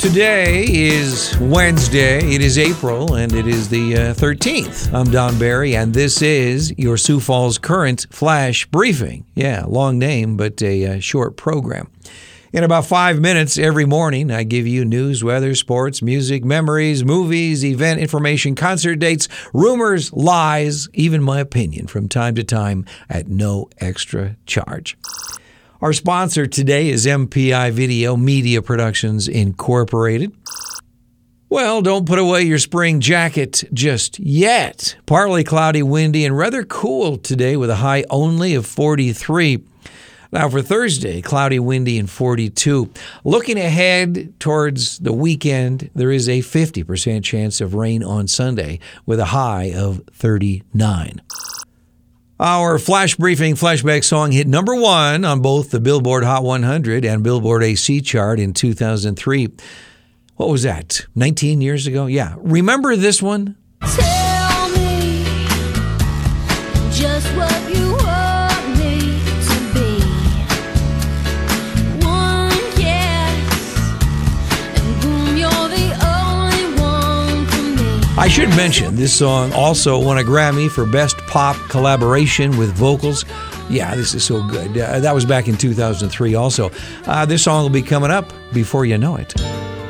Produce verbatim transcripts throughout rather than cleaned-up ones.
Today is Wednesday, it is April, and it is the uh, thirteenth. I'm Don Barry, and this is your Sioux Falls Current Flash Briefing. Yeah, long name, but a uh, short program. In about five minutes every morning, I give you news, weather, sports, music, memories, movies, event information, concert dates, rumors, lies, even my opinion from time to time at no extra charge. Our sponsor today is M P I Video Media Productions Incorporated. Well, don't put away your spring jacket just yet. Partly cloudy, windy, and rather cool today with a high only of forty-three. Now for Thursday, cloudy, windy, and forty-two. Looking ahead towards the weekend, there is a fifty percent chance of rain on Sunday with a high of thirty-nine. Our Flash Briefing flashback song hit number one on both the Billboard Hot one hundred and Billboard A C chart in two thousand three. What was that? nineteen years ago? Yeah. Remember this one? Tell me just what you want me to be. One kiss, and boom, you're the only one for me. I should mention, this song also won a Grammy for Best Pop Collaboration with Vocals. Yeah, this is so good. Uh, that was back in two thousand three also. Uh, this song will be coming up before you know it.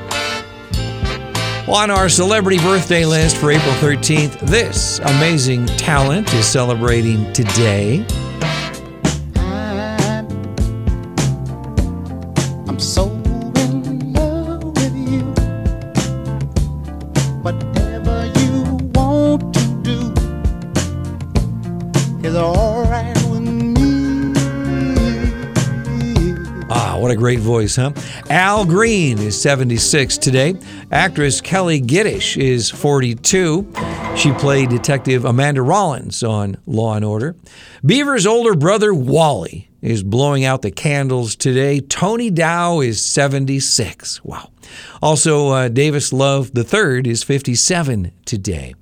On our celebrity birthday list for April thirteenth, this amazing talent is celebrating today. I'm so in love with you. Whatever you want to do is all right with me. Ah, what a great voice, huh? Al Green is seventy-six today. Actress Kelly Giddish is forty-two. She played Detective Amanda Rollins on Law and Order. Beaver's older brother, Wally, is blowing out the candles today. Tony Dow is seventy-six. Wow. Also, uh, Davis Love the third is fifty-seven today.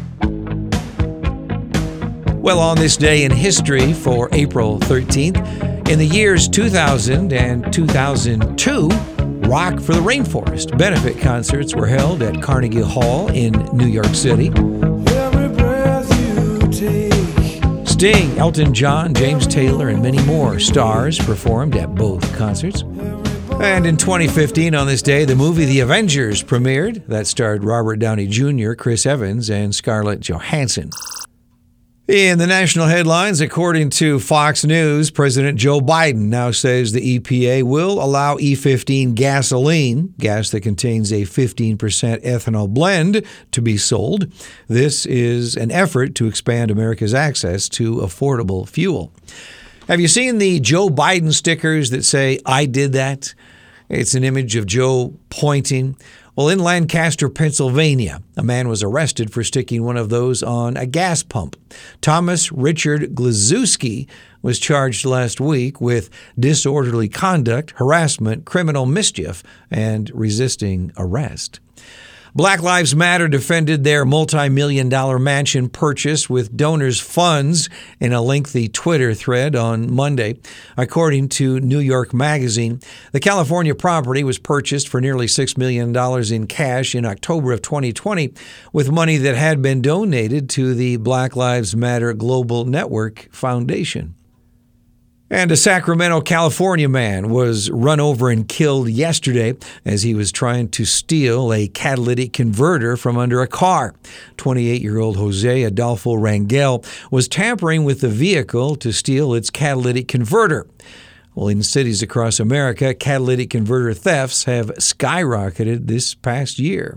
Well, on this day in history for April thirteenth, in the years two thousand and two thousand two, Rock for the Rainforest benefit concerts were held at Carnegie Hall in New York City. Every breath you take. Sting, Elton John, James Taylor, and many more stars performed at both concerts. And in twenty fifteen, on this day, the movie The Avengers premiered. That starred Robert Downey Junior, Chris Evans, and Scarlett Johansson. In the national headlines, according to Fox News, President Joe Biden now says the E P A will allow E fifteen gasoline, gas that contains a fifteen percent ethanol blend, to be sold. This is an effort to expand America's access to affordable fuel. Have you seen the Joe Biden stickers that say, "I did that"? It's an image of Joe pointing. Well, in Lancaster, Pennsylvania, a man was arrested for sticking one of those on a gas pump. Thomas Richard Glazewski was charged last week with disorderly conduct, harassment, criminal mischief, and resisting arrest. Black Lives Matter defended their multi-million dollar mansion purchase with donors' funds in a lengthy Twitter thread on Monday. According to New York Magazine, the California property was purchased for nearly six million dollars in cash in October of twenty twenty, with money that had been donated to the Black Lives Matter Global Network Foundation. And a Sacramento, California man was run over and killed yesterday as he was trying to steal a catalytic converter from under a car. twenty-eight-year-old Jose Adolfo Rangel was tampering with the vehicle to steal its catalytic converter. Well, in cities across America, catalytic converter thefts have skyrocketed this past year.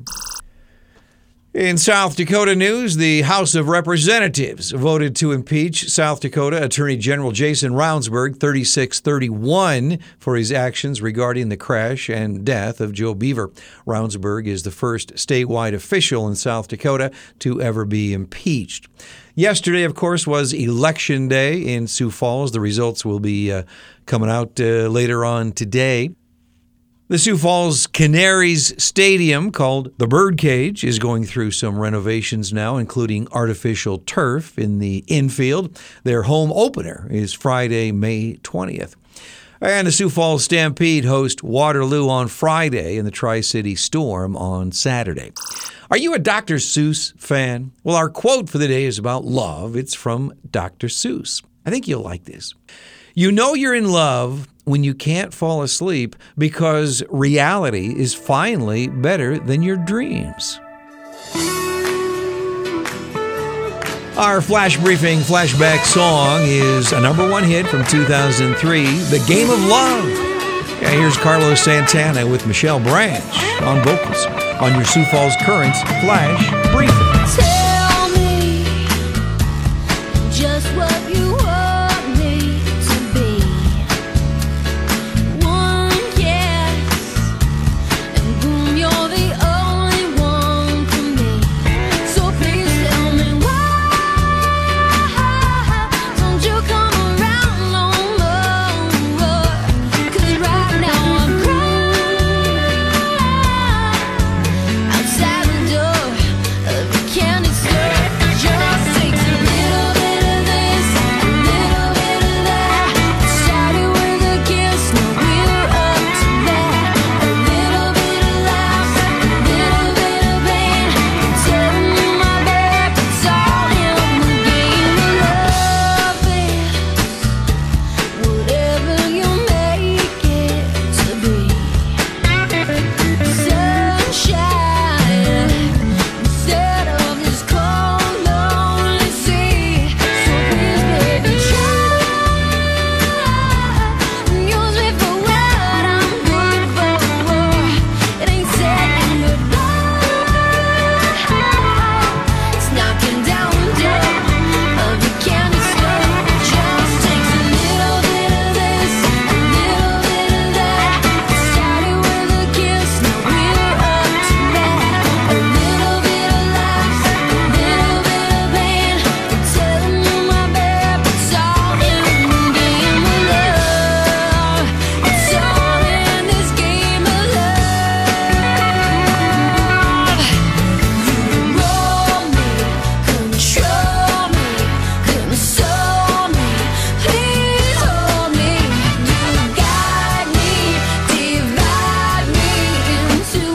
In South Dakota news, the House of Representatives voted to impeach South Dakota Attorney General Jason Ravnsborg thirty-six thirty-one for his actions regarding the crash and death of Joe Beaver. Ravnsborg is the first statewide official in South Dakota to ever be impeached. Yesterday, of course, was Election Day in Sioux Falls. The results will be uh, coming out uh, later on today. The Sioux Falls Canaries Stadium, called the Birdcage, is going through some renovations now, including artificial turf in the infield. Their home opener is Friday, May twentieth. And the Sioux Falls Stampede host Waterloo on Friday and the Tri-City Storm on Saturday. Are you a Doctor Seuss fan? Well, our quote for the day is about love. It's from Doctor Seuss. I think you'll like this. You know you're in love when you can't fall asleep because reality is finally better than your dreams. Our Flash Briefing flashback song is a number one hit from two thousand three, The Game of Love. Yeah, here's Carlos Santana with Michelle Branch on vocals on your Sioux Falls Currents Flash Briefing. Tell me just what you want me to be. One kiss, and boom, you're the only one for me. So please tell me why don't you come around no more? 'Cause right now I'm crying outside the door of the candy store. Just takes a little bit of this, a little bit of that. Started with a kiss, now we're up to that. A little bit of laughs, a little bit of pain. Turn my back, it's all in the game of love. Is whatever you make it to be. Sunshine instead of this cold, lonely sea. So please, baby, try. Use me for what I'm good for. It ain't saying goodbye. It's knocking down the door of the candy store. Just takes a little bit of this, a little bit of that. Started with a kiss, now we're up to that. A little bit of laughs, a little bit of pain. Telling you, my babe, it's all in the game of love. It's all in this game of love. You roll me, control me, console me. Please hold me. You guide me, divide me into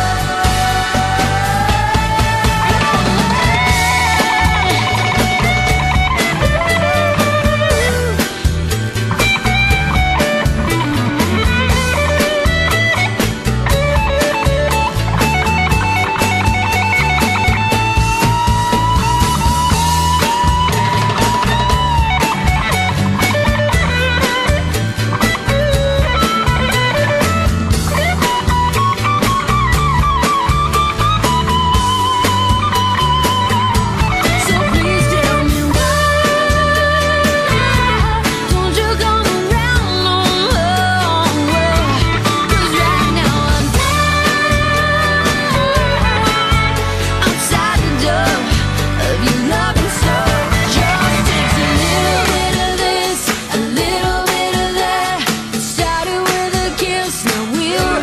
So please tell me why don't you come around no more? 'Cause right now I'm outside the door of your loving soul. Just takes a little bit of this, a little bit of that. Started with a kiss, now we're